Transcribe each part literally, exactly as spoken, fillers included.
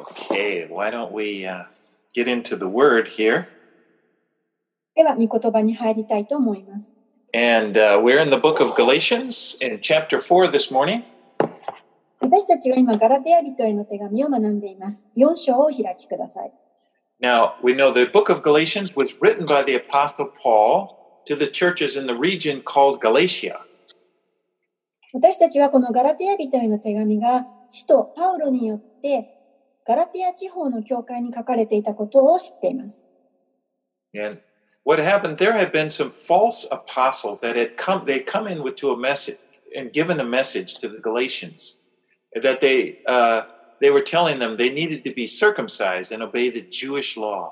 Okay, why don't we uh, get into the word here? では、御言葉に入りたいと思います。 And uh, we're in the book of Galatians in chapter four this morning. 私たちは今、ガラテヤ人への手紙を学んでいます。よん章をお開きください。 Now, we know the book of Galatians was written by the Apostle Paul to the churches in the region called Galatia. 私たちはこのガラテヤ人への手紙が、使徒パウロによってガラテヤ地方の教会に書かれていたことを知っています。 And what happened, there had been some false apostles that had come, they'd come in with to a message and given a message to the Galatians that they, uh, they were telling them they needed to be circumcised and obey the Jewish law.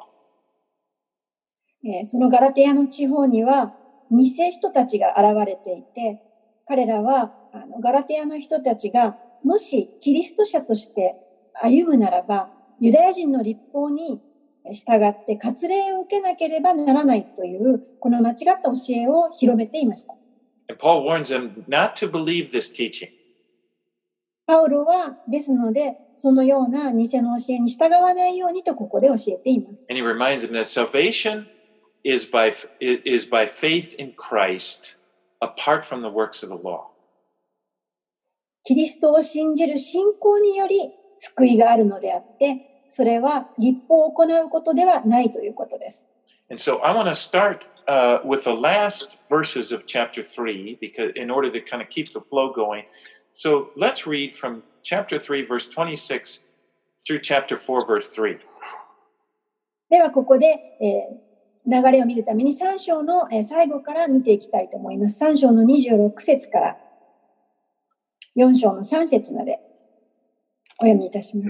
そのガラテヤの地方には偽人たちが現れていて、彼らはあのガラテヤの人たちがもしキリスト者として歩むならば、ユダヤ人の律法に従って割礼を受けなければならないというこの間違った教えを広めていました。 And Paul warns them not to believe this teaching. パウロはですので、そのような偽の教えに従わないようにとここで教えています。 And he reminds them that salvation is by, is by faith in Christ apart from the works of the law. キリストを信じる信仰により救いがあるのであって、それは律法を行うことではないということです。 And so I want to start uh, with the last verses of chapter three, because in order to kind of keep the flow going. So let's read from chapter three, verse twenty-six through chapter four, verse three. ではここで、えー、流れを見るためにさん章の、えー、最後から見ていきたいと思います。さん章のにじゅうろく節からよん章のさん節までお読みいたします。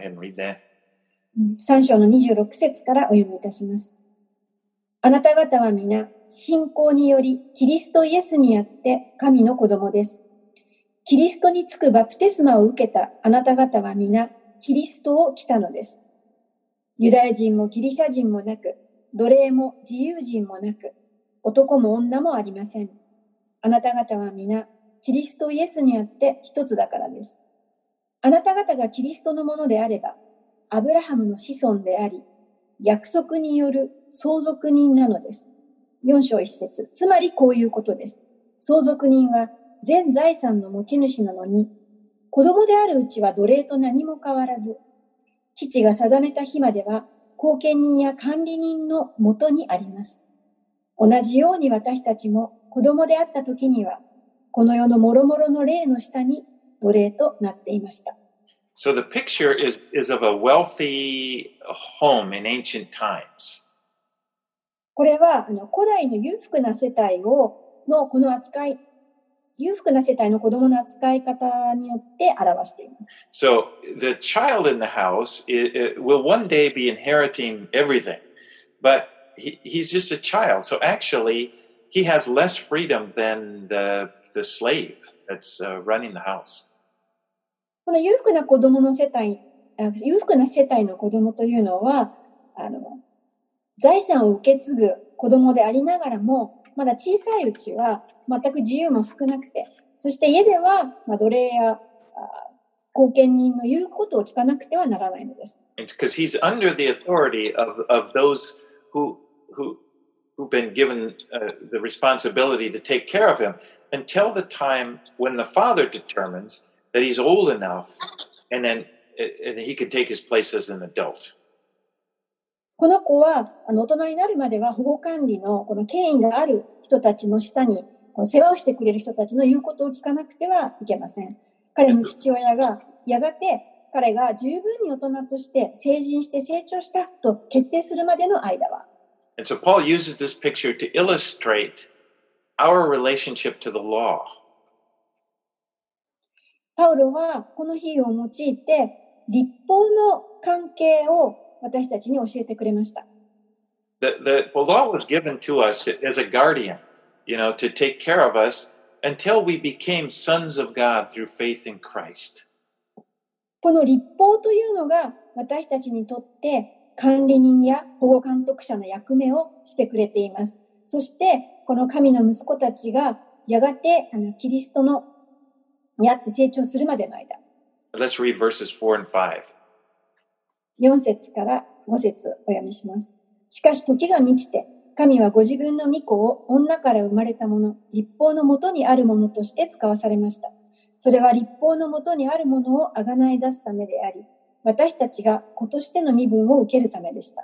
さん章のにじゅうろく節からお読みいたします。あなた方は皆、信仰によりキリストイエスにあって神の子供です。キリストにつくバプテスマを受けたあなた方は皆、キリストを着たのです。ユダヤ人もギリシャ人もなく、奴隷も自由人もなく、男も女もありません。あなた方は皆、キリストイエスにあって一つだからです。あなた方がキリストのものであれば、アブラハムの子孫であり、約束による相続人なのです。よん章いち節、つまりこういうことです。相続人は全財産の持ち主なのに、子供であるうちは奴隷と何も変わらず、父が定めた日までは後見人や管理人のもとにあります。同じように私たちも子供であった時には、この世の諸々の霊の下に奴隷となっていました。 So the picture is, is of a wealthy home in ancient times. これはあの古代の裕福な世帯をのこの扱い、裕福な世帯の子供の扱い方によって表しています。 So the child in the house it, it will one day be inheriting everything, but he, he's just a child. So actually, he has less freedom than the, the slave that's uh, running the house. この裕福な子供の世帯、裕福な世帯の子供というのは、あの財産を受け継ぐ子供でありながらも、まだ小さいうちは全く自由も少なくて、そして家では、まあ、奴隷や後見人の言うことを聞かなくてはならないのです。 Because he's under the authority of, of those who, who, who've been given uh, the responsibility to take care of him until the time when the father determines that he's old enough and then and he can take his place as an adult. この子はあの大人になるまでは保護管理のこの権威がある人たちの下に世話をしてくれる人たちの言うことを聞かなくてはいけません。彼の父親がやがて彼が十分に大人として成人して成長したと決定するまでの間は。 And so Paul uses this picture to illustrate our relationship to the law. パウロはこの比喩を用いて律法の関係を私たちに教えてくれました。 The, the, the law was given to us as a guardian, you know, to take care of us until we became sons of God through faith in Christ. この律法というのが私たちにとって管理人や保護監督者の役目をしてくれています。そしてこの神の息子たちがやがてあのキリストのにあって成長するまでの間。 Let's read verses four and five. よん節からご節お読みします。しかし時が満ちて、神はご自分の御子を女から生まれたもの、立法のもとにあるものとして使わされました。それは立法のもとにあるものをあがない出すためであり、私たちが子としての身分を受けるためでした。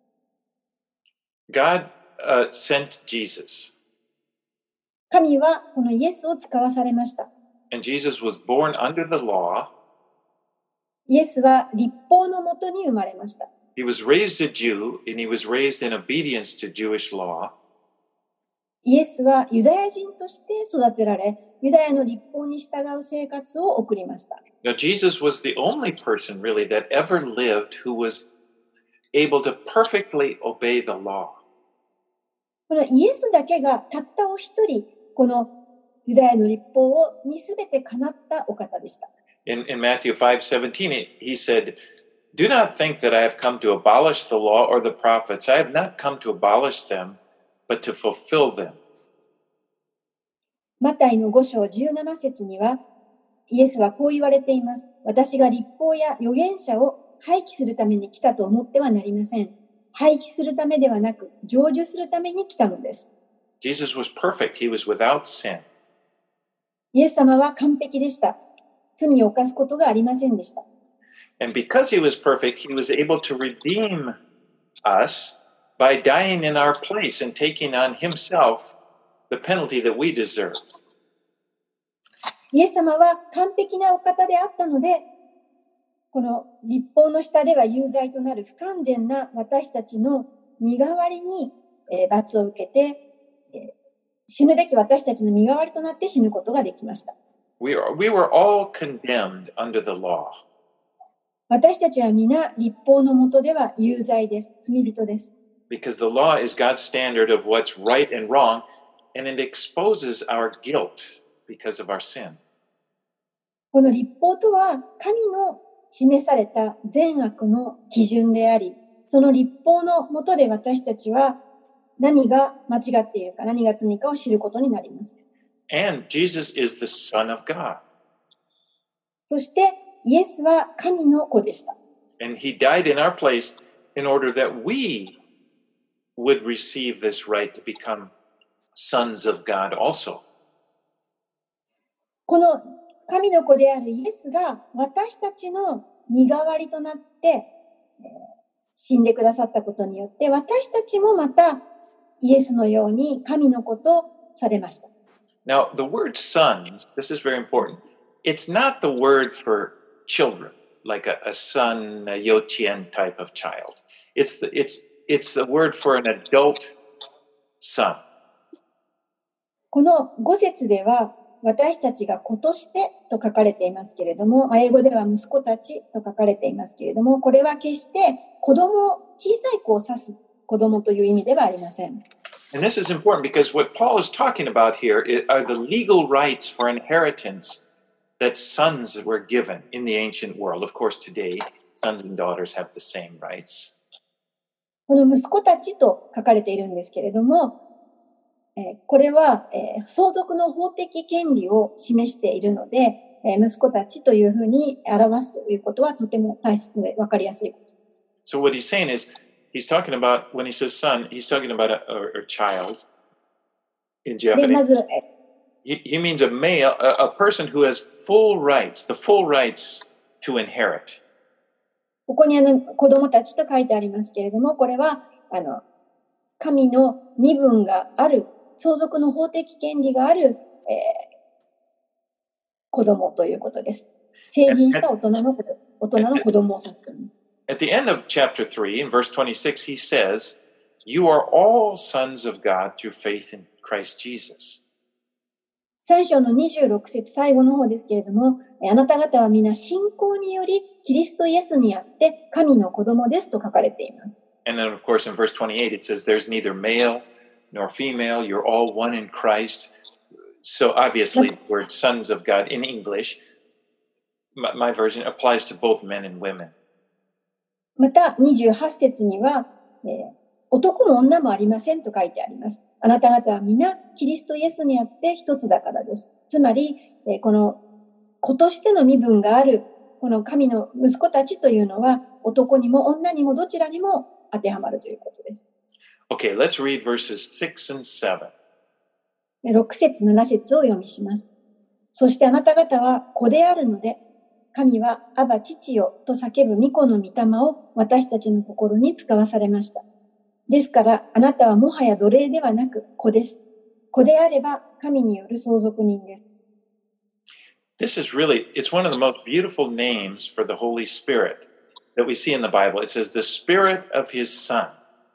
God uh, sent Jesus. 神はこのイエスを使わされました。 And Jesus was born under the law. イエスは立法のもとに生まれました。 He was raised a Jew, and he was raised in obedience to Jewish law. イエスはユダヤ人として育てられ、ユダヤの立法に従う生活を送りました。 Now, Jesus was the only person really that ever lived who was able to perfectly obey the law. このイエスだけがたったお一人、このユダヤの立法をにすべてかなったお方でした。 In, in Matthew five seventeen, he said, Do not think that I have come to abolish the law or the prophets. I have not come to abolish them, but to fulfill them. マタイのご章じゅうなな節には、イエスはこう言われています。私が立法や預言者を廃棄するために来たと思ってはなりません。廃棄するためではなく、成就するために来たのです。 Jesus was perfect. He was without sin. イエス様は完璧でした。罪を犯すことがありませんでした。 And because he was perfect, he was able to redeem us by dying in our place and taking on himself the penalty that we deserve. イエス様は完璧なお方であったので、この立法の下では有罪となる不完全な私たちの身代わりに、えー、罰を受けて、えー、死ぬべき私たちの身代わりとなって死ぬことができました。 We are, we were all condemned under the law. 私たちは皆立法の下では有罪です。罪人です。 Because the law is God's standard of what's right and wrong, and it exposes our guilt because of our sin. この立法とは神の示された善悪の基準であり、その立法の下で私たちは何が間違っているか、何が罪かを知ることになります。 And Jesus is the Son of God. そしてイエスは神の子でした。 And he died in our place in order that we would receive this right to become sons of God also. この神の子であるイエスが私たちの身代わりとなって死んでくださったことによって、私たちもまたイエスのように神の子とされました。 Now, the word sons, this is very important. It's not the word for children, like a, a son, a yochien type of child. It's the, it's, it's the word for an adult son. このご節では、私たちが子としてと書かれていますけれども、英語では息子たちと書かれていますけれども、これは決して子供、小さい子を指す子供という意味ではありません。 And this is important because what Paul is talking about here are the legal rights for inheritance that sons were given in the ancient world. Of course, today, sons and daughters have the same rights. この息子たちと書かれているんですけれども、えー、これは、えー、相続の法的権利を示しているので、えー、息子たちというふうに表すということはとても大切で分かりやすいことです。 So what he's saying is, he's talking about, when he says son, he's talking about a, a, a child in Japanese. で、まず、 He, he means a male, a, a person who has full rights, the full rights to inherit. ここにあの子供たちと書いてありますけれども、これはあの神の身分がある、相続の法的権利がある、えー、子供ということです。成人した大人の大人の子供を指しています。 At the end of chapter three, in verse twenty-six, he says, "You are all sons of God through faith in Christ Jesus." さん章のにじゅうろく節最後の方ですけれども、あなた方は皆信仰によりキリストイエスにあって神の子供ですと書かれています。 And then, of course, in verse twenty-eight, it says, "There's neither male nor female; you're all one in Christ." So obviously, the word "sons of God" in English, my, my version applies to both men and women. またにじゅうはち節には、えー、男も女もありませんと書いてあります。あなた方は皆キリストイエスにあって一つだからです。つまり、えー、この子としての身分があるこの神の息子たちというのは男にも女にもどちらにも当てはまるということです。 Okay, let's read verses six and seven. ろく節、なな節を読みします。そしてあなた方は子であるので、神はアバ父よと叫ぶ御子の御霊を私たちの心に使わされました。ですからあなたはもはや奴隷ではなく子です。子であれば神による相続人です。 This is really, it's one of the most beautiful names for the Holy Spirit that we see in the Bible. It says the Spirit of His Son.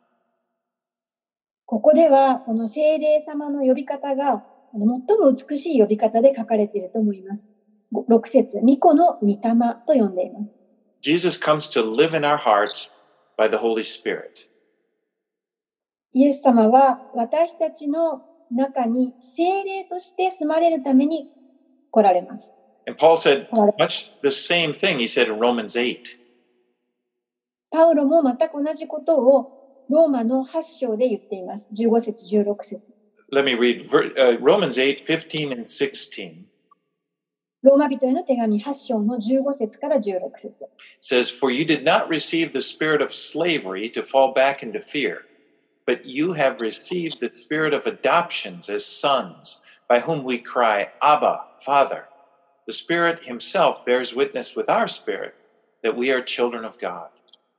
ここではこの聖霊様の呼び方が最も美しい呼び方で書かれていると思います。ろく節、御子の御霊と呼んでいます。 Jesus comes to live in our hearts by the Holy Spirit. イエス様は私たちの中に聖霊として住まれるために来られます。 And Paul said much the same thing he said in Romans eight. パウロも全く同じことをローマのはち章で言っています。じゅうご節、じゅうろく節。 Let me read uh, Romans eight, fifteen and sixteen. ローマ人への手紙はち章のじゅうご節からじゅうろく節。 says, For you did not receive the spirit of slavery to fall back into fear, but you have received the spirit of adoptions as sons, by whom we cry, Abba, Father. The Spirit Himself bears witness with our spirit that we are children of God.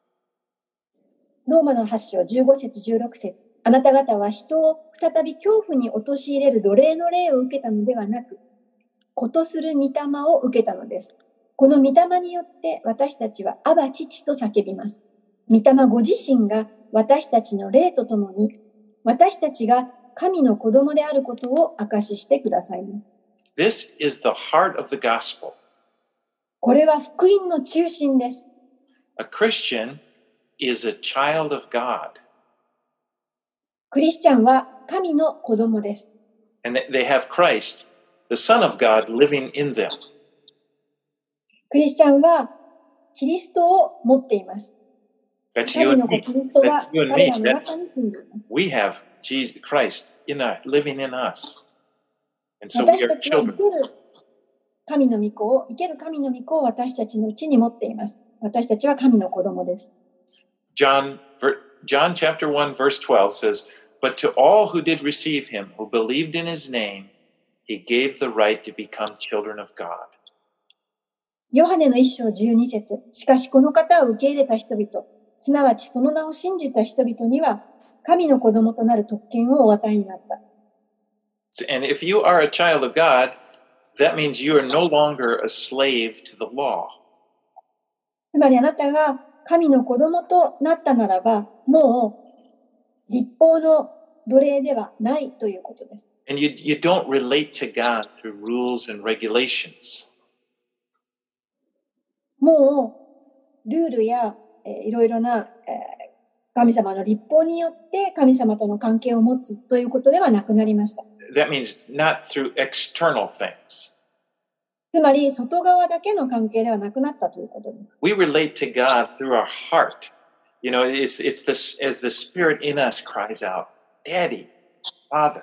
ローマのはち章じゅうご節、じゅうろく節。あなた方は人を再び恐怖に陥れる奴隷の霊を受けたのではなく、子とする御霊を受けたのです。この御霊によって私たちはアバ父と叫びます。御霊ご自身が私たちの霊とともに、私たちが神の子供であることを証ししてくださいます。 This is the heart of the gospel. これは福音の中心です。 A Christian is a child of God. クリスチャンは神の子供です。 And they have Christ, the Son of God, living in them. クリスチャンはキリストを持っています。 That's you 神 and の子 me. キリストは That's you and 彼 me. らの That's, 中に住んでいます。 we have Jesus Christ in our, living in us. And so we 私 are たちは生 children. ける神の御子を、生ける神の御子を私たちのうちに持っています。私たちは神の子供です。 John, John chapter one, verse twelve says, But to all who did receive him, who believed in his name, he gave the right to become children of God. ヨハネの一章じゅうに節。しかしこの方を受け入れた人々、すなわちその名を信じた人々には、神の子供となる特権をお与えになった。 And if you are a child of God, that means you are no longer a slave to the law. つまりあなたが神の子供となったならば、もう立法の奴隷ではないということです。 And you, you don't relate to God through rules and regulations. もうルールや、えー、いろいろな、えー、神様の立法によって神様との関係を持つということではなくなりました。 That means not through external things. つまり外側だけの関係ではなくなったということです。 We relate to God through our heart. You know, it's it's this as the Spirit in us cries out, Daddy, Father.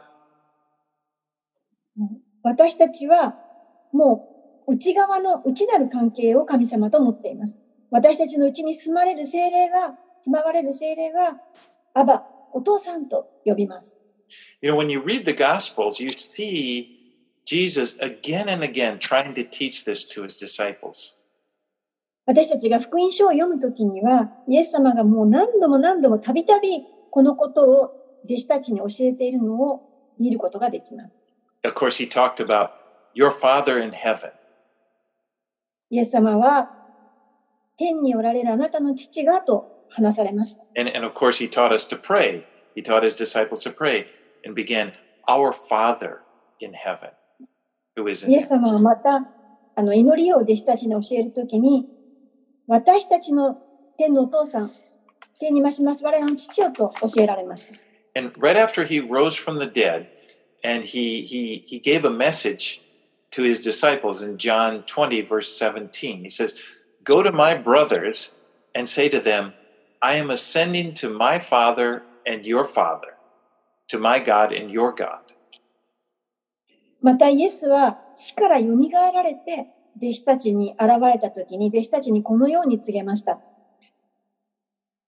私たちはもう内側の内なる関係を神様と持っています。私たちのうちに住まれる聖霊が、住まわれる聖霊が、アバ、お父さんと呼びます。 You know, when you read the Gospels, you see Jesus again and again trying to teach this to his disciples. 私たちが福音書を読むときには、イエス様がもう何度も何度もたびたびこのことを弟子たちに教えているのを見ることができます。 Of course, he talked about your Father in heaven. イエス様は天におられるあなたの父がと話されました。 And, and of course, he taught us to pray. He taught his disciples to pray and began, Our Father in heaven, who is in イエス heaven. 様はまたあの祈りを弟子たちに教えるときに、私たちの天のお父さん、天にまします我らの父よと教えられました。 And right after he rose from the dead, and he, he, he gave a message to his disciples in John twenty, verse seventeen. He says, Go to my brothers and say to them, I am ascending to my Father and your Father, to my God and your God. またイエスは死からよみがえられて弟子たちに現れたときに弟子たちにこのように告げました。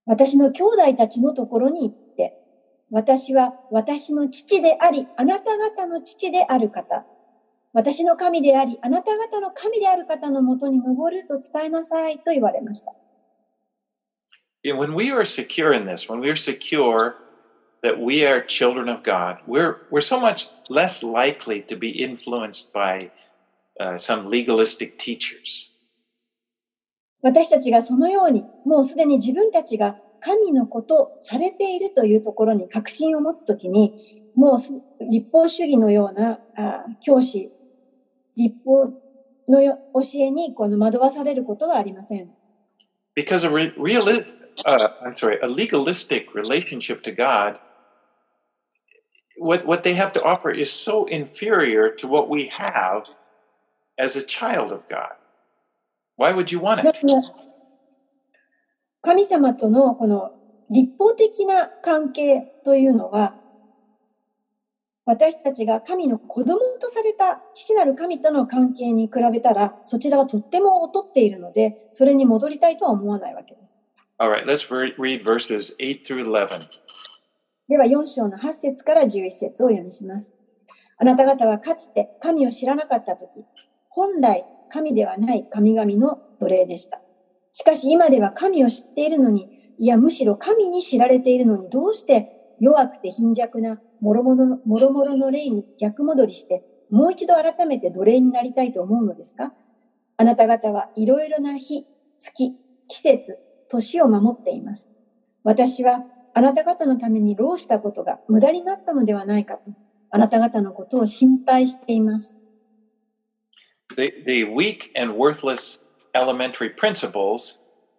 私の兄弟たちのところに行って、私は私の父であり、あなた方の父である方、私の神であり、あなた方の神である方のもとに登ると伝えなさいと言われました。 When we are secure in this, when we are secure that we are children of God, we're, we're so much less likely to be influenced by uh, some legalistic teachers. 私たちがそのように、もうすでに自分たちが神のことされているというところに確信を持つときに、もう立法主義のようなあ教師、立法の教えにこの惑わされることはありません。 Because a re- realist, uh, I'm sorry, a legalistic relationship to God, what what they have to offer is so inferior to what we have as a child of God. Why would you want it? 神様とのこの立法的な関係というのは、私たちが神の子供とされた父なる神との関係に比べたら、そちらはとっても劣っているので、それに戻りたいとは思わないわけです。 All right, let's read verses eight through eleven. ではよん章のはち節からじゅういち節を読みします。あなた方はかつて神を知らなかったとき、本来神ではない神々の奴隷でした。しかし今では神を知っているのに、いやむしろ神に知られているのに、どうして弱くて貧弱なもろもろの、もろもろの霊に逆戻りして、もう一度改めて奴隷になりたいと思うのですか？あなた方はいろいろな日、月、季節、年を守っています。私はあなた方のために労したことが無駄になったのではないかと、あなた方のことを心配しています。 The, the weak and worthless elementary principles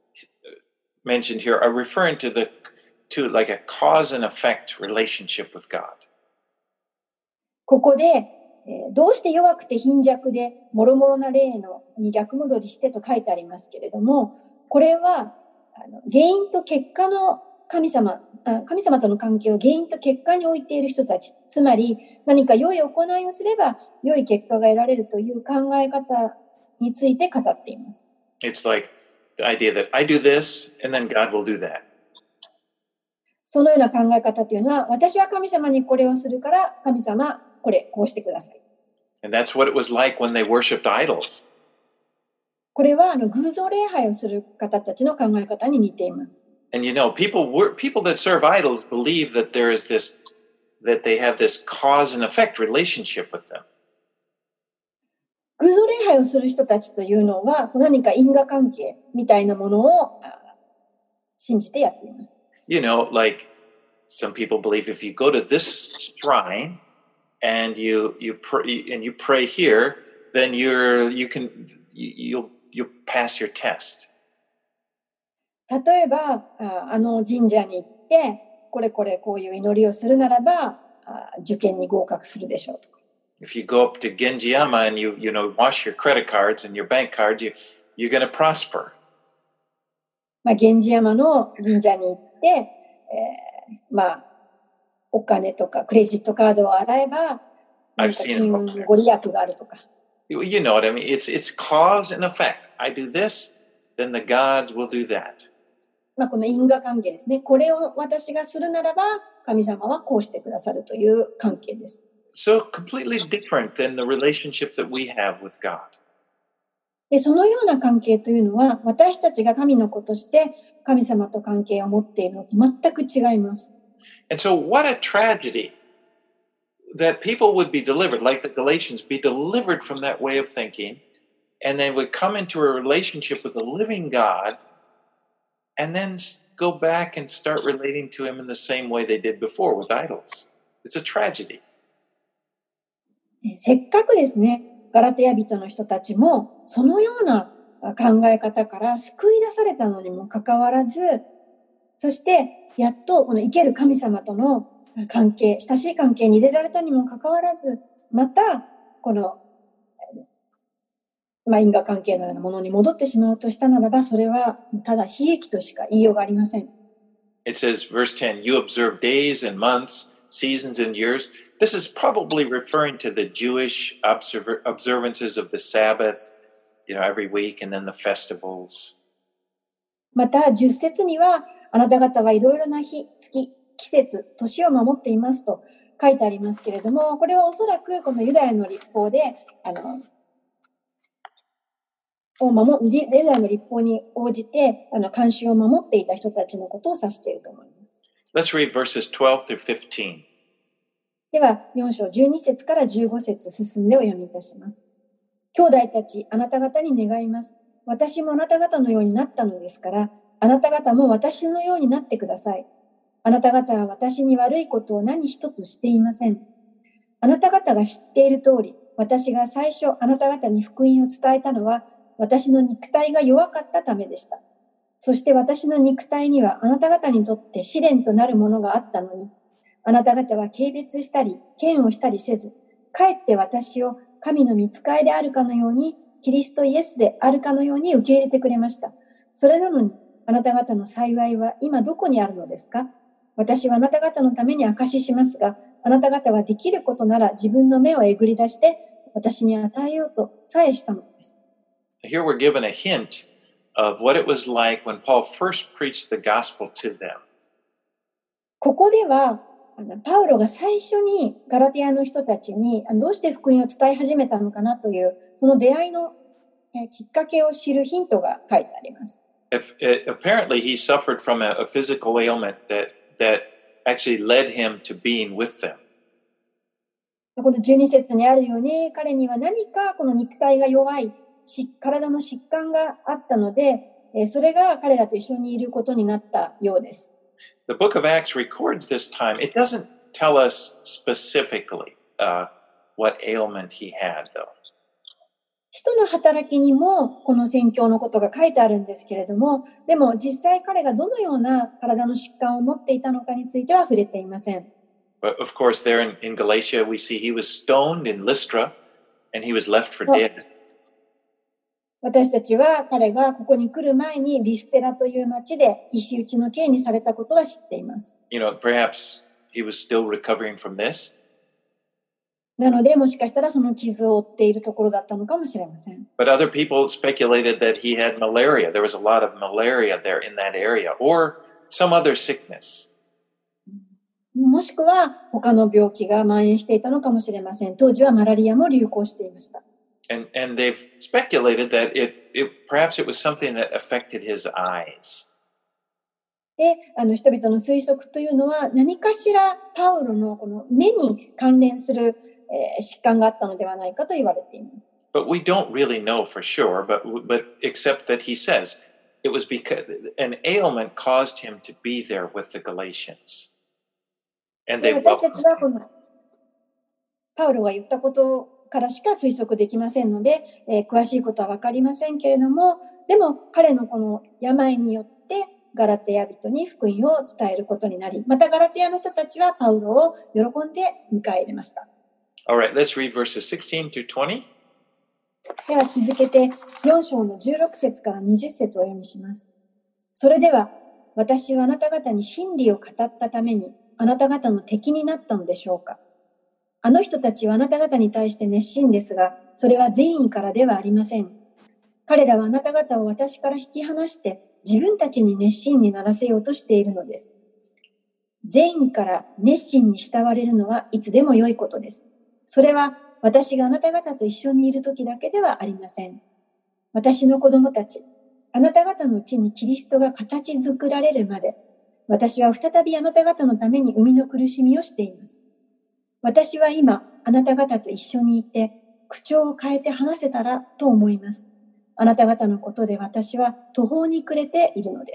mentioned here are referring to the to like a cause and effect relationship with God. ここで、えー、どうして弱くて貧弱でもろもろな霊のに逆戻りしてと書いてありますけれども、これはあの原因と結果の神様あ、神様との関係を原因と結果に置いている人たち、つまり何か良い行いをすれば良い結果が得られるという考え方について語っています。 It's like the idea that I do this and then God will do that. そのような考え方というのは、私は神様にこれをするから神様これこうしてください。 And that's what it was like when they worshipped idols. これはあの偶像礼拝をする方たちの考え方に似ています。 And you know, people were, people that serve idols believe that there is this, that they have this cause and effect relationship with them. 偶像礼拝をする人たちというのは、何か因果関係みたいなものを信じてやっています。 You know, like some people believe if you go to this shrine and you you pray and you pray here, then you're you can you'll you'll pass your test. 例えば、あの神社に行って、これこれこういう祈りをするならば、受験に合格するでしょうとか。 If you go up to Genjiyama and you you know wash your credit cards and your bank cards, you you're going to prosper. まあ源氏山の神社に行って、えー、まあお金とかクレジットカードを洗えば、何か金運のご利益があるとか。 You know what I mean? It's it's cause and effect. I do this, then the gods will do that. まあこの因果関係ですね。これを私がするならば、神様はこうしてくださるという関係です。 So completely different than the relationship that we have with God. で、そのような関係というのは、私たちが神の子として神様と関係を持っているのと全く違います。 And so what a tragedy that people would be delivered, like the Galatians, be delivered from that way of thinking, and they would come into a relationship with the living God, and then go back and start relating to him in the same way they did before with idols. It's a tragedy. せっかくですね、ガラテヤ人の人たちもそのような考え方から救い出されたのにもかかわらず、そしてやっとこの生ける神様との関係、親しい関係に入れられたにもかかわらず、またこの、まあ、因果関係のようなものに戻ってしまうとしたならば、それはただ悲劇としか言いようがありません。 It says, verse ten, you observe days and months, seasons and years. This is probably referring to the Jewish observer, observances of the Sabbath, you know, every week, and then the festivals. また、十節には、 あなた方はいろいろな日、月、季節、年を守っていますと書いてありますけれども、これはおそらくこのユダヤの律法で、あの、を守ユダヤの律法に応じて、あの、慣習を守っていた人たちのことを指していると思います。 Let's read verses twelve through fifteen. では、よん章じゅうに節からじゅうご節進んでお読みいたします。兄弟たち、あなた方に願います。私もあなた方のようになったのですから、あなた方も私のようになってください。あなた方は私に悪いことを何一つしていません。あなた方が知っている通り、私が最初あなた方に福音を伝えたのは、私の肉体が弱かったためでした。そして私の肉体にはあなた方にとって試練となるものがあったのに、あなた方は軽蔑したり、嫌悪したりせず、かえって私を神の御使いであるかのように、キリストイエスであるかのように受け入れてくれました。それなのに、あなた方の幸いは今どこにあるのですか？私はあなた方のために証ししますが、あなた方はできることなら自分の目をえぐり出して、私に与えようとさえしたのです。 Here we're given a hint of what it was like when Paul first preached the gospel to them. ここでは、あのパウロが最初にガラテヤの人たちにどうして福音を伝え始めたのかなという、その出会いのきっかけを知るヒントが書いてあります。 If, it, apparently, he suffered from a, a physical ailment that, that actually led him to being with them. このじゅうに節にあるように、彼には何かこの肉体が弱い、体の疾患があったので、それが彼らと一緒にいることになったようです。 The book of Acts records this time. It doesn't tell us specifically uh, what ailment he had, though. 使徒の働きにもこの宣教のことが書いてあるんですけれども、でも実際彼がどのような体の疾患を持っていたのかについては触れていません。 But of course, there in, in Galatia, we see he was stoned in Lystra and he was left for dead. 私たちは彼がここに来る前にリステラという町で石打ちの刑にされたことは知っています。 You know, perhaps he was still recovering from this. なので、もしかしたらその傷を負っているところだったのかもしれません。 But other people speculated that he had malaria. There was a lot of malaria there in that area, or some other sickness. もしくは他の病気が蔓延していたのかもしれません。当時はマラリアも流行していました。 And, and they've speculated that it, it perhaps it was something that affected his eyes. で、あの人々の推測というのは何かしらパウロのこの目に関連する、えー、疾患があったのではないかと言われています。 But we don't really know for sure, but, but except that he says it was because an ailment caused him to be there with the Galatians. And they 私たちはこのパウロが言ったことからしか推測できませんので、えー、詳しいことは分かりませんけれども、でも彼のこの病によってガラテヤ人に福音を伝えることになり、またガラテヤの人たちはパウロを喜んで迎え入れました。 Alright, let's read verses sixteen through twenty. では続けてよん章のじゅうろく節からにじゅう節をお読みします。それでは私はあなた方に真理を語ったためにあなた方の敵になったのでしょうか。あの人たちはあなた方に対して熱心ですが、それは善意からではありません。彼らはあなた方を私から引き離して自分たちに熱心にならせようとしているのです。善意から熱心に慕われるのはいつでも良いことです。それは私があなた方と一緒にいる時だけではありません。私の子供たち、あなた方のうちにキリストが形作られるまで、私は再びあなた方のために生みの苦しみをしています。私は今、あなた方と一緒にいて、口調を変えて話せたらと思います。あなた方のことで私は途方に暮れているのです。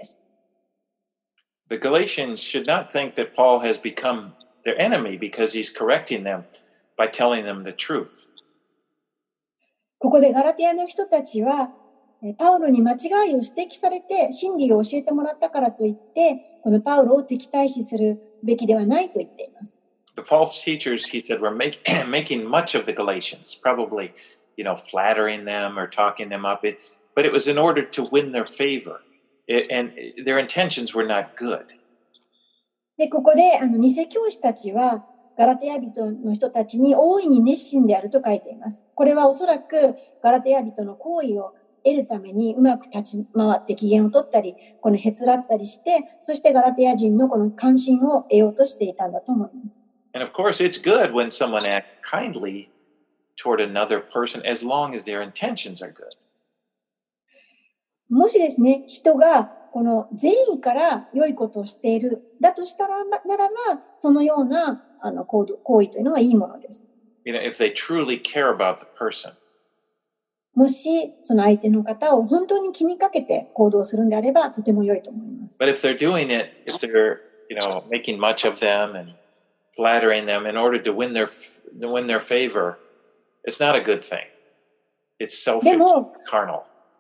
The Galatians should not think that Paul has become their enemy because he's correcting them by telling them the truth. ここでガラテヤの人たちは、パウロに間違いを指摘されて真理を教えてもらったからといって、このパウロを敵対視するべきではないと言っています。 The false teachers, he said, were make, making much of the Galatians, probably, you know, flattering them or talking them up. It, but it was in order to win their favor. It, and their intentions were not good. で、ここで、あの、偽教師たちは、ガラテヤ人の人たちに大いに熱心であると書いています。これはおそらくガラテヤ人の行為を得るためにうまく立ち回って機嫌を取ったり、このへつらったりして、そしてガラテヤ人のこの関心を得ようとしていたんだと思います。 And of course, it's good when someone acts kindly toward another person as long as their intentions are good. もしですね、人がこの善意から良いことをしている、だとしたら、ならば、そのようなあの行動行為というのはいいものです。 You know, if they truly care about the person. もし、その相手の方を本当に気にかけて行動するんであれば、とても良いと思います。 But if they're doing it, if they're, you know, making much of them and flattering them in order to win their, win their favor, it's not a good thing. It's selfish, でも、 carnal.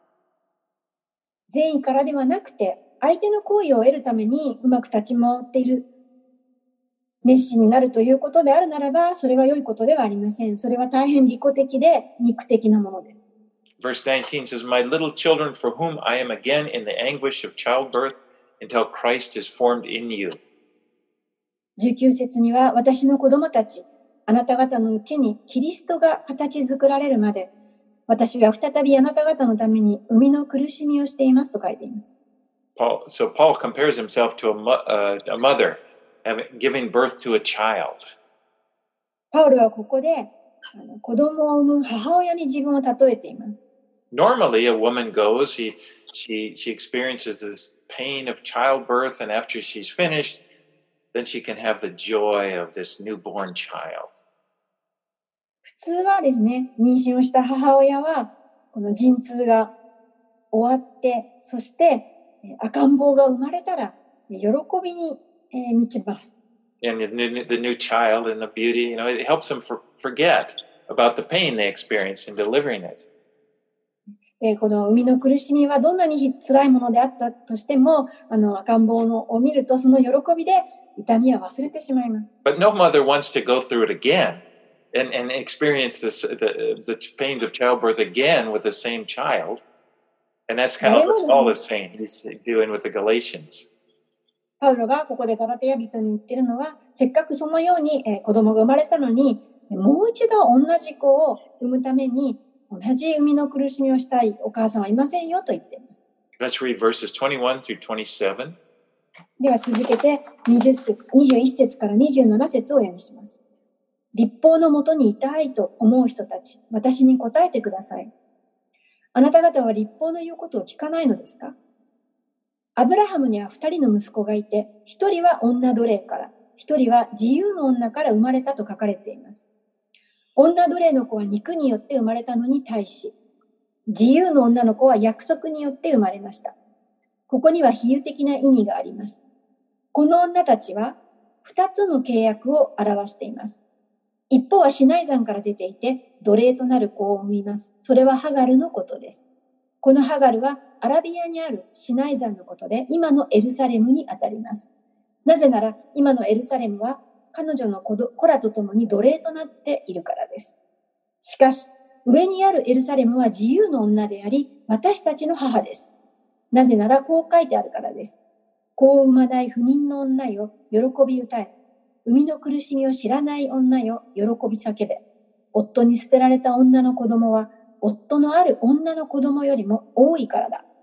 善意からではなくて、相手の好意を得るためにうまく立ち回っている、熱心になるということであるならば、それは良いことではありません。それは大変利己的で肉的なものです。 Verse nineteen says, My little children, for whom I am again in the anguish of childbirth until Christ is formed in you. じゅうきゅう節には、私の子供たち、あなた方のうちにキリストが形作られるまで、私は再びあなた方のために生みの苦しみをしていますと書いています。 Paul, so Paul compares himself to a, uh, a mother giving birth to a child. パウロはここであの子供を産む母親に自分を例えています。 Normally, a woman goes, she, she, she experiences this pain of childbirth, and after she's finished, then she can have the joy of this newborn child. 普通はですね、妊娠をした母親は、この陣痛が終わって、そして赤ん坊が生まれたら、喜びに満ちます。 And the new, the new child and the beauty, you know, it helps them for, forget about the pain they experienced in delivering it. この生みの苦しみはどんなに辛いものであったとしても、あの赤ん坊のを見るとその喜びで痛みは忘れてしまいます。 But no mother wants to go through it again and, and experience this, the, the pains of childbirth again with the same child. And that's kind of what Paul is saying. He's doing with the Galatians. パウロがここでガラテヤ人に言っているのは、せっかくそのように子供が生まれたのに、もう一度同じ子を産むために同じ生みの苦しみをしたいお母さんはいませんよと言っています。 Let's read verses twenty-one through twenty-seven. では続けてにじゅう節、にじゅういち節からにじゅうなな節をお読みします。立法のもとにいたいと思う人たち、私に答えてください。あなた方は立法の言うことを聞かないのですか？アブラハムには二人の息子がいて、一人は女奴隷から、一人は自由の女から生まれたと書かれています。女奴隷の子は肉によって生まれたのに対し、自由の女の子は約束によって生まれました。ここには比喩的な意味があります。この女たちは二つの契約を表しています。一方はシナイ山から出ていて、奴隷となる子を産みます。それはハガルのことです。このハガルはアラビアにあるシナイ山のことで、今のエルサレムにあたります。なぜなら、今のエルサレムは彼女の子らと共に奴隷となっているからです。しかし、上にあるエルサレムは自由の女であり、私たちの母です。なぜなら、こう書いてあるからです。子を産まない不妊の女よ、喜び歌え。生みの苦しみを知らない女よ、喜び叫べ。夫に捨てられた女の子供は、夫のある女の子供よりも多いからだ。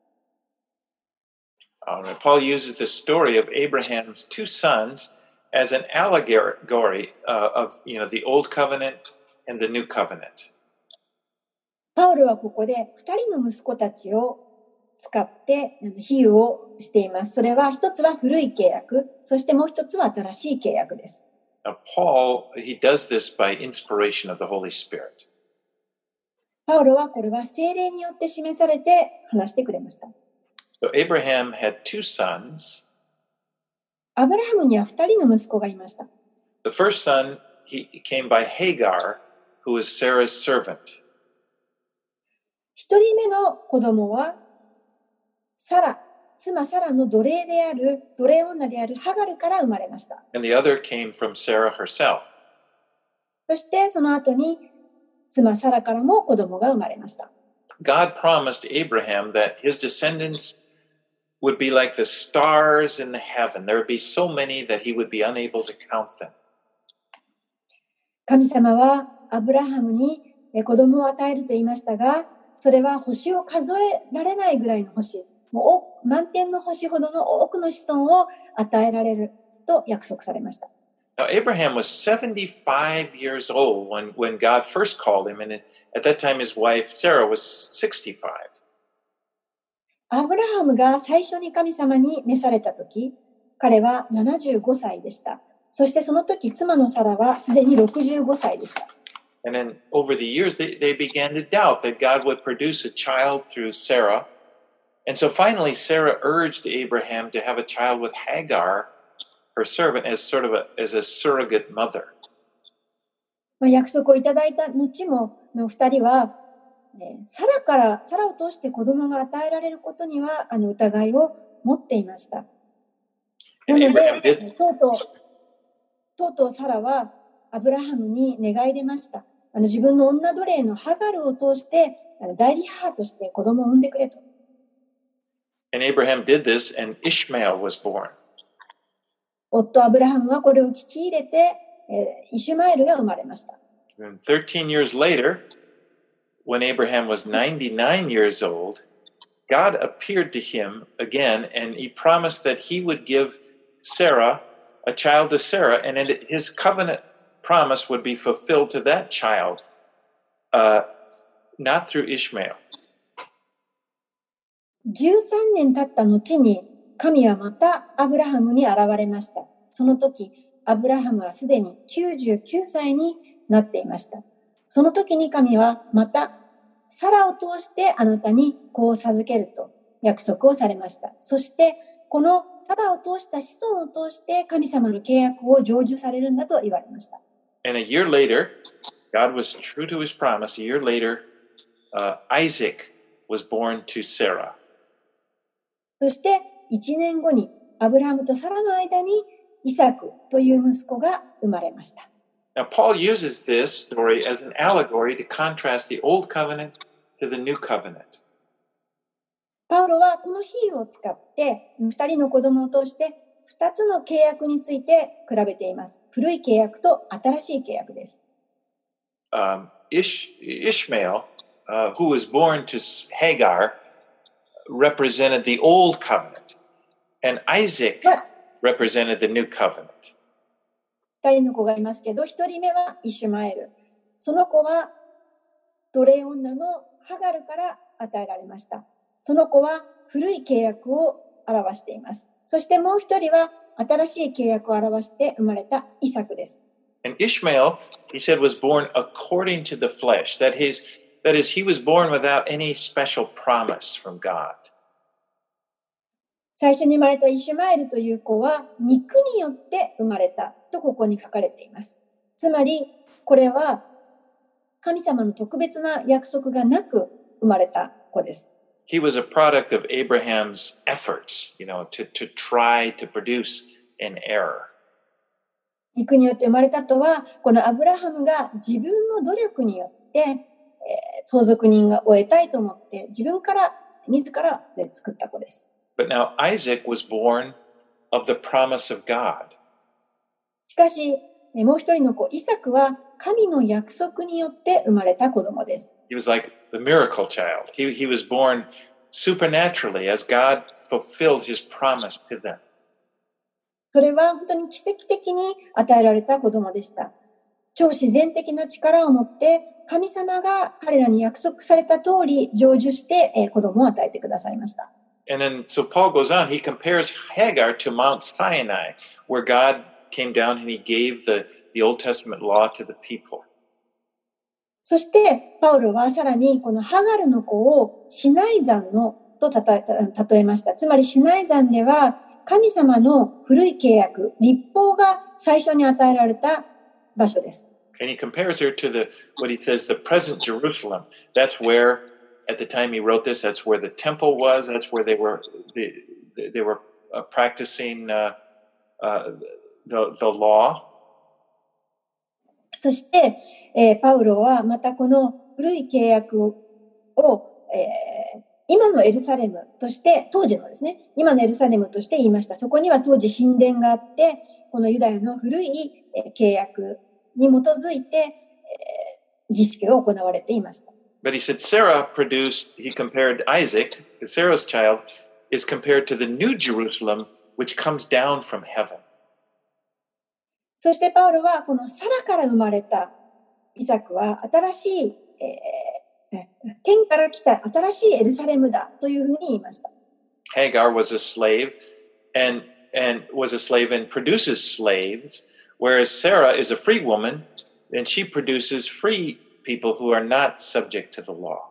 Uh, Paul uses the story of Abraham's two sons as an allegory uh, of, you know, the old covenant and the new covenant. パウロはここで二人の息子たちを使って比喩をしています。それは一つは古い契約、そしてもう一つは新しい契約です。 Now, Paul, he does this by inspiration of the Holy Spirit. パウロはこれは聖霊によって示されて話してくれました。 So Abraham had two sons. アブラハムには二人の息子がいました。 The first son, he came by Hagar, who was Sarah's servant. 一人目の子供はサラ、妻サラの奴隷である、奴隷女であるハガルから生まれました。 And the other came from Sarah herself. そしてその後に妻サラからも子供が生まれました。 God promised Abraham that his descendants would be like the stars in the heaven. There would be so many that he would be unable to count them. 神様はアブラハムに子供を与えると言いましたが、 それは星を数えられないぐらいの星、もう満天の星ほどの多くの子孫を与えられると約束されました。 Now, Abraham was seventy-five years old when, when God first called him, and at that time his wife Sarah was sixty-five. アブラハムが最初に神様に召されたとき、彼はななじゅうごさいでした。そしてその時、妻のサラはすでにろくじゅうごさいでした。 And then over the years, they, they began to doubt that God would produce a child through Sarah. And so finally, Sarah urged Abraham to have a child with Hagar, her servant, as sort of a, as a surrogate mother. まあ約束をいただいた後もの二人は、サラから、サラを通して子供が与えられることには、あの疑いを持っていました。なので、とうとう、とうとうサラはアブラハムに願い出ました。あの自分の女奴隷のハガルを通して、あの代理母として子供を産んでくれと。 And Abraham did this, and Ishmael was born. 夫アブラハムはこれを聞き入れて、えー、イシュマエルが生まれました。 And thirteen years later, when Abraham was ninety-nine years old, God appeared to him again, and he promised that he would give Sarah a child to Sarah, and his covenant promise would be fulfilled to that child, uh, not through Ishmael. じゅうさんねん経った後に、神はまたアブラハムに現れました。その時、アブラハムはすでにきゅうじゅうきゅうさいになっていました。その時に神はまたサラを通してあなたに子を授けると約束をされました。そしてこのサラを通した子孫を通して神様の契約を成就されるんだと言われました。 And a year later, God was true to his promise. A year later, uh, Isaac was born to Sarah. そしていちねんごにアブラハムとサラの間にイサクという息子が生まれました。 Now, Paul uses this story as an allegory to contrast the old covenant to the new covenant. パウロはこの比喩を使って二人の子供を通して二つの契約について比べています。古い契約と新しい契約です。 Um, Ish, Ishmael, uh, who was born to Hagar, represented the old covenant, and Isaac represented the new covenant. 二人の子がいますけど、一人目はイシュマエル。その子は奴隷女のハガルから与えられました。その子は古い契約を表しています。そしてもう一人は新しい契約を表して生まれたイサクです。 And Ishmael, he said, was born according to the flesh. That is, that is, he was born without any special promise from God. 最初に生まれたイシュマエルという子は肉によって生まれたとここに書かれています。つまりこれは神様の特別な約束がなく生まれた子です。 He was a product of Abraham's efforts, you know, to, to try to produce an error. 肉によって生まれたとは、このアブラハムが自分の努力によって、えー、相続人が得たいと思って自分から自らで作った子です。 But now Isaac was born of the promise of God. しかし、もう一人の子、イサクは神の約束によって生まれた子供です。 He was like the miracle child. He, he was born supernaturally as God fulfilled his promise to them. それは本当に奇跡的に与えられた子供でした。超自然的な力を持って神様が彼らに約束された通り成就して子供を与えてくださいました。 And then, so Paul goes on, he compares Hagar to Mount Sinai, where God came down and he gave the, the Old Testament law to the people. そして、パウロはさらにこのハガルの子をシナイ山のと例え、例えました。つまりシナイ山では神様の古い契約、律法が最初に与えられた場所です。 And he compares her to the, what he says, the present Jerusalem. That's where, at the time he wrote this, that's where the temple was. That's where they were, they, they were uh, practicing uh, uh, the, the law. そして、えー、パウロはまたこの古い契約を、えー、今のエルサレムとして、当時のですね、今のエルサレムとして言いました。そこには当時神殿があって、このユダヤの古い契約に基づいて、えー、儀式が行われていました。 But he said Sarah produced, he compared Isaac, Sarah's child, is compared to the New Jerusalem, which comes down from heaven. そしてパウロはこのサラから生まれたイサクは新しい、えー、天から来た新しいエルサレムだというふうに言いました。 Hagar was a slave and, and was a slave and produces slaves, whereas Sarah is a free woman and she produces free people who are not subject to the law.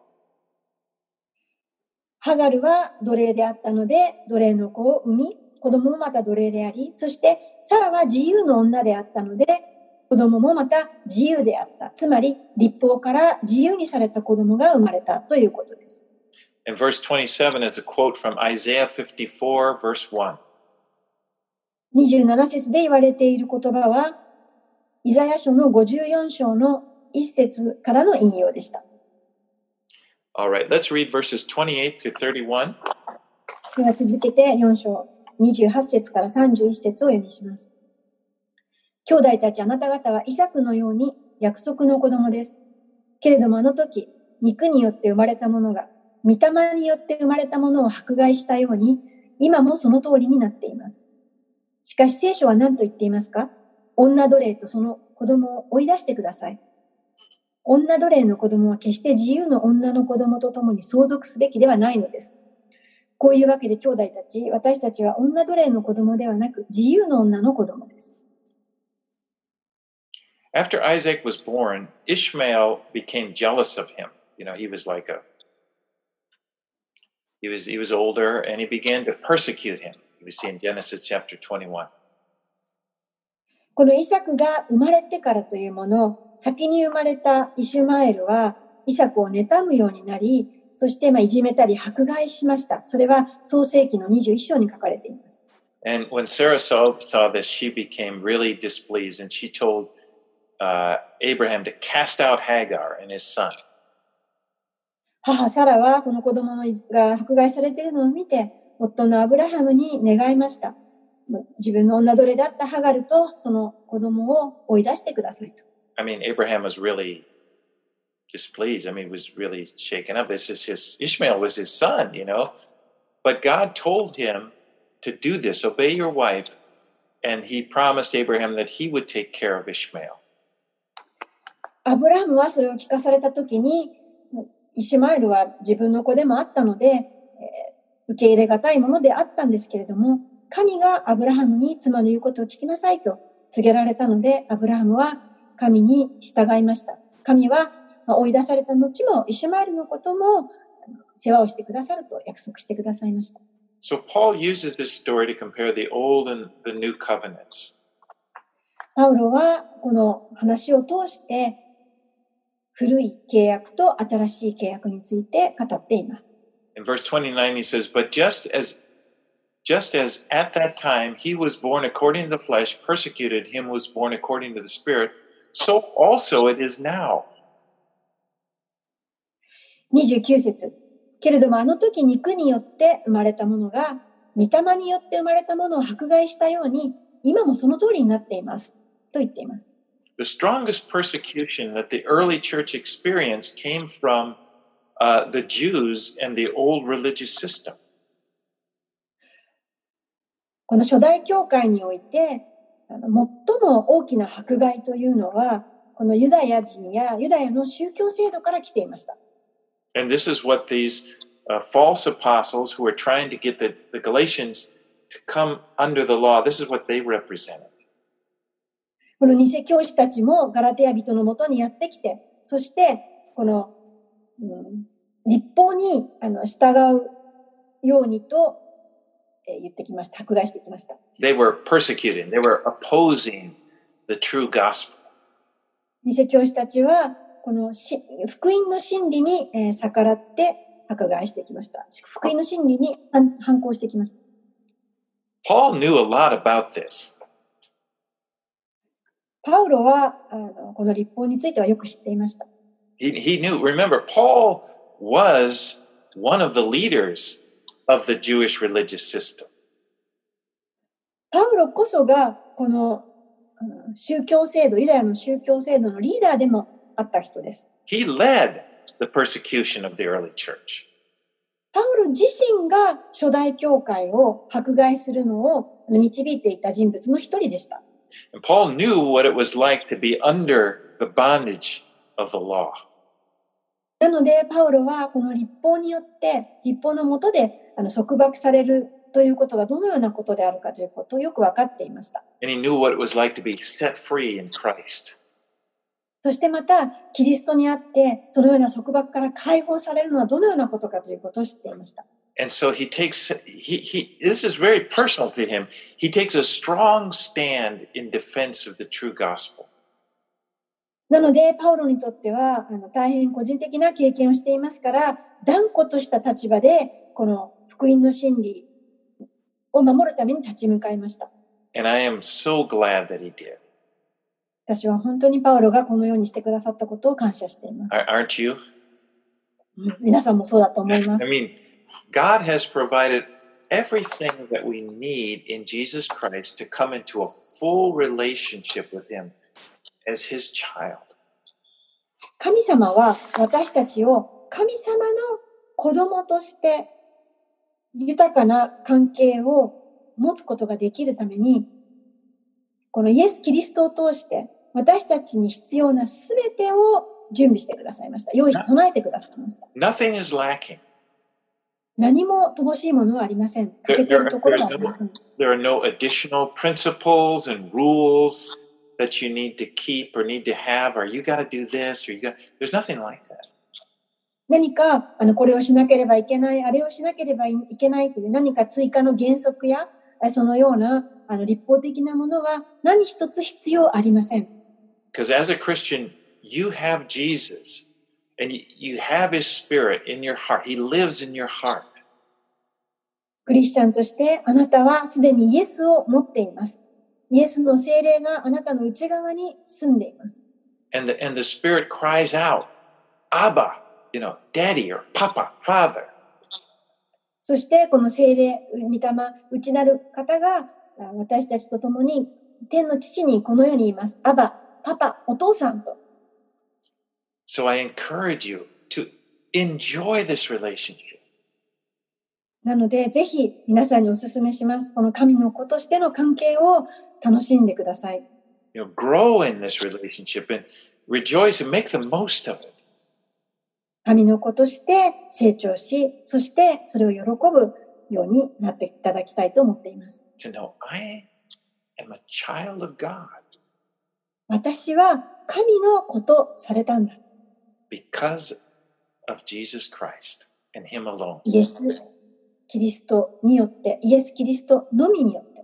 ハガルは奴隷であったので奴隷の子を産み、子供もまた奴隷であり、そしてサラは自由の女であったので子供もまた自由であった。つまり立法から自由にされた子供が生まれたということです。 And verse twenty-seven is a quote from Isaiah fifty-four, verse one. にじゅうなな節で言われている言葉は、イザヤ書のごじゅうよん章のいち節からの引用でした。 All right, let's read verses twenty-eight through thirty-one. では続けてよん章にじゅうはち節からさんじゅういち節を読みします。兄弟たちあなた方はイサクのように約束の子供です。けれどもあの時、肉によって生まれたものが、御霊によって生まれたものを迫害したように、今もその通りになっています。しかし聖書は何と言っていますか？女奴隷とその子供を追い出してください。女奴隷の子供は決して自由の女の子供と共に相続すべきではないのです。こういうわけで兄弟たち、私たちは女奴隷の子供ではなく自由の女の子供です。 After Isaac was born, Ishmael became jealous of him. You know, he was like a, he was, he was older and he began to persecute him. We see in Genesis chapter twenty-one. このイサクが生まれてからというもの、先に生まれたイシュマエルはイサクを妬むようになり、そしてまあいじめたり迫害しました。それは創世記のにじゅういち章に書かれています。 And when Sarah saw, saw this, she became really displeased and she told uh, Abraham to cast out Hagar and his son. 母サラはこの子供が迫害されているのを見て、夫のアブラハムに願いました。自分の女奴隷だったハガルとその子供を追い出してくださいと。 I mean, Abraham was really displeased. I mean, he was really shaken up. This is his, Ishmael was his son, you know. But God told him to do this, obey your wife. And he promised Abraham that he would take care of Ishmael. アブラハムはそれを聞かされたときに、イシュマエルは自分の子でもあったので、えー、受け入れがたいものであったんですけれども、神がアブラハムに妻の言うことを聞きなさいと告げられたので、アブラハムは神に従いました。神は追い出された後もイシュマエルのことも世話をしてくださると約束してくださいました。 So Paul uses this story to compare the old and the new covenants. パウロはこの話を通して古い契約と新しい契約について語っています。 In verse twenty-nine he says, But just as, just as at that time he was born according to the flesh, persecuted him who was born according to the Spirit, so also it is now. にじゅうきゅう節。けれどもあの時肉によって生まれたものが御霊によって生まれたものを迫害したように今もその通りになっていますと言っています。 The strongest persecution that the early church experienced came from uh, the Jews and the old religious system. この初代教会において最も大きな迫害というのはこのユダヤ人やユダヤの宗教制度から来ていました。 And this is what these uh, false apostles who were trying to get the, the Galatians to come under the law, this is what they represented. この偽教師たちもガラテヤ人のもとにやってきて、そしてこの、うん、立法にあの従うようにと、えー、言ってきました。迫害してきました。 They were persecuting, they were opposing the true gospel. 偽教師たちはこのし福音の真理に、えー、逆らって迫害してきました。福音の真理に反、反抗してきました。 Paul knew a lot about this. パウロはあのこの立法についてはよく知っていました。 He, he knew, remember, Paul was one of the leaders of the Jewish religious system. パウロこそがこの宗教制度、ユダヤの宗教制度のリーダーでもあった人です。 He led the persecution of the early church. パウロ自身が初代教会を迫害するのを導いていた人物の一人でした。 And Paul knew what it was like to be under the bondage of the law. なので、パウロはこの律法によって、律法の下であの束縛されるということがどのようなことであるかということをよく分かっていました。 And he knew what it was like to be set free in Christ. そしてまた、キリストにあって、そのような束縛から解放されるのはどのようなことかということを知っていました。 And so he takes, he, he, this is very personal to him. He takes a strong stand in defense of the true gospel. なので、パウロにとっては、あの大変個人的な経験をしていますから、断固とした立場で、この福音の真理を守るために立ち向かいました。 And I am so glad that he did. 私は本当にパウロがこのようにしてくださったことを感謝しています。 Aren't you? 皆さんもそうだと思いま I す。 mean, God has provided everything that we need in Jesus Christ to come into a full relationship with him as his child. 神様は私たちを神様の子供として豊かな関係を持つことができるために、このイエス・キリストを通して私たちに必要なすべてを準備してくださいました。用意し備えてくださいました。 Nothing is lacking. 何も乏しいものはありません。欠けているところはありません。 There are no additional principles and rules that you need to keep or need to have, or you got to do this, or you got. There's nothing like that. 何かあのこれをしなければいけない、あれをしなければいけないという何か追加の原則やそのようなあの立法的なものは何一つ必要ありません。 Because as a Christian, you have Jesus, and you have His Spirit in your heart. He lives in your heart. クリスチャンとしてあなたはすでにイエスを持っています。イエスの聖霊があなたの内側に住んでいます。 And the, and the Spirit cries out, Abba, you know, Daddy or Papa, Father. そしてこの聖霊、御霊、内なる方が私たちと共に天の父にこのように言います。アバ、パパ、お父さんと。 So I encourage you to enjoy this relationship. なので、ぜひ皆さんにお勧めします。この神の子としての関係を楽しんでください。 You know, grow in this relationship and rejoice and make the most of it. 神の子として成長し、そしてそれを喜ぶようになっていただきたいと思っています。 To know I am a child of God. 私は神の子とされたんだ。 Because of Jesus Christ and Him alone. イエス・キリストによって、イエス・キリストのみによって。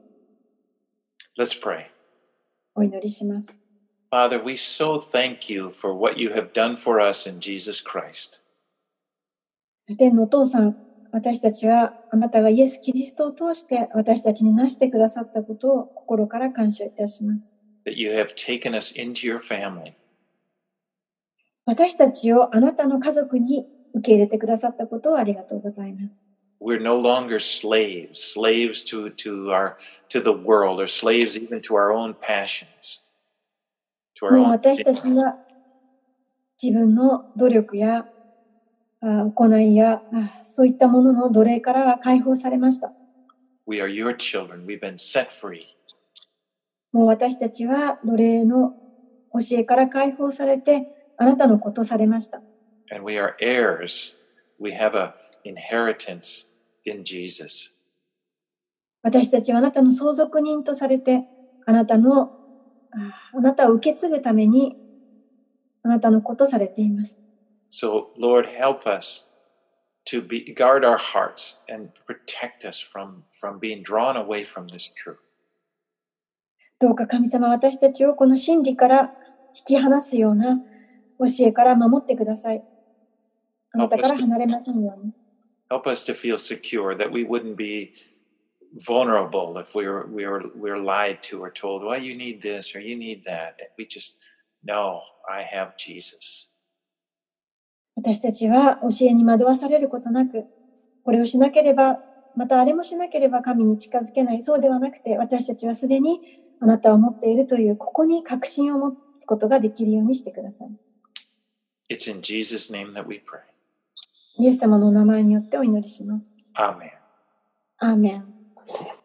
Let's pray. お祈りします。 Father, we so thank you for what you have done for us in Jesus Christ. 天のお父さん、私たちはあなたがイエス・キリストを通して私たちになしてくださったことを心から感謝いたします。 That you have taken us into your family. 私たちをあなたの家族に受け入れてくださったことをありがとうございます。 We're no longer slaves, slaves to, to, our, to the world, or slaves even to our own passions. もう私たちは自分の努力や行いやそういったものの奴隷からは解放されました。 We are your children. We've been set free. もう私たちは奴隷の教えから解放されてあなたの子とされました。 And we are heirs. We have an inheritance in Jesus. 私たちはあなたの相続人とされてあなたのあなたを受け継ぐためにあなたの子とされています。 So, Lord, help us to be, guard our hearts and protect us from, from being drawn away from this truth. どうか神様、私たちをこの真理から引き離すような教えから守ってください。あなたから離れませんように。 Help us to feel secure that we wouldn't be vulnerable if we were, we were, we were lied to or told, well, you need this or you need that. And we just, no, I have Jesus. 私たちは教えに惑わされることなく、これをしなければ、またあれもしなければ神に近づけない。そうではなくて、私たちはすでにあなたを持っているという、ここに確信を持つことができるようにしてください。 It's in Jesus' name that we pray. イエス様のお名前によってお祈りします。 Amen. アーメン。